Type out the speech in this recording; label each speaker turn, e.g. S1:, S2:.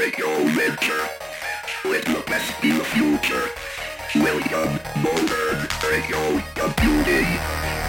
S1: Radio Winter with the best in the future. William Motor, Radio Beauty.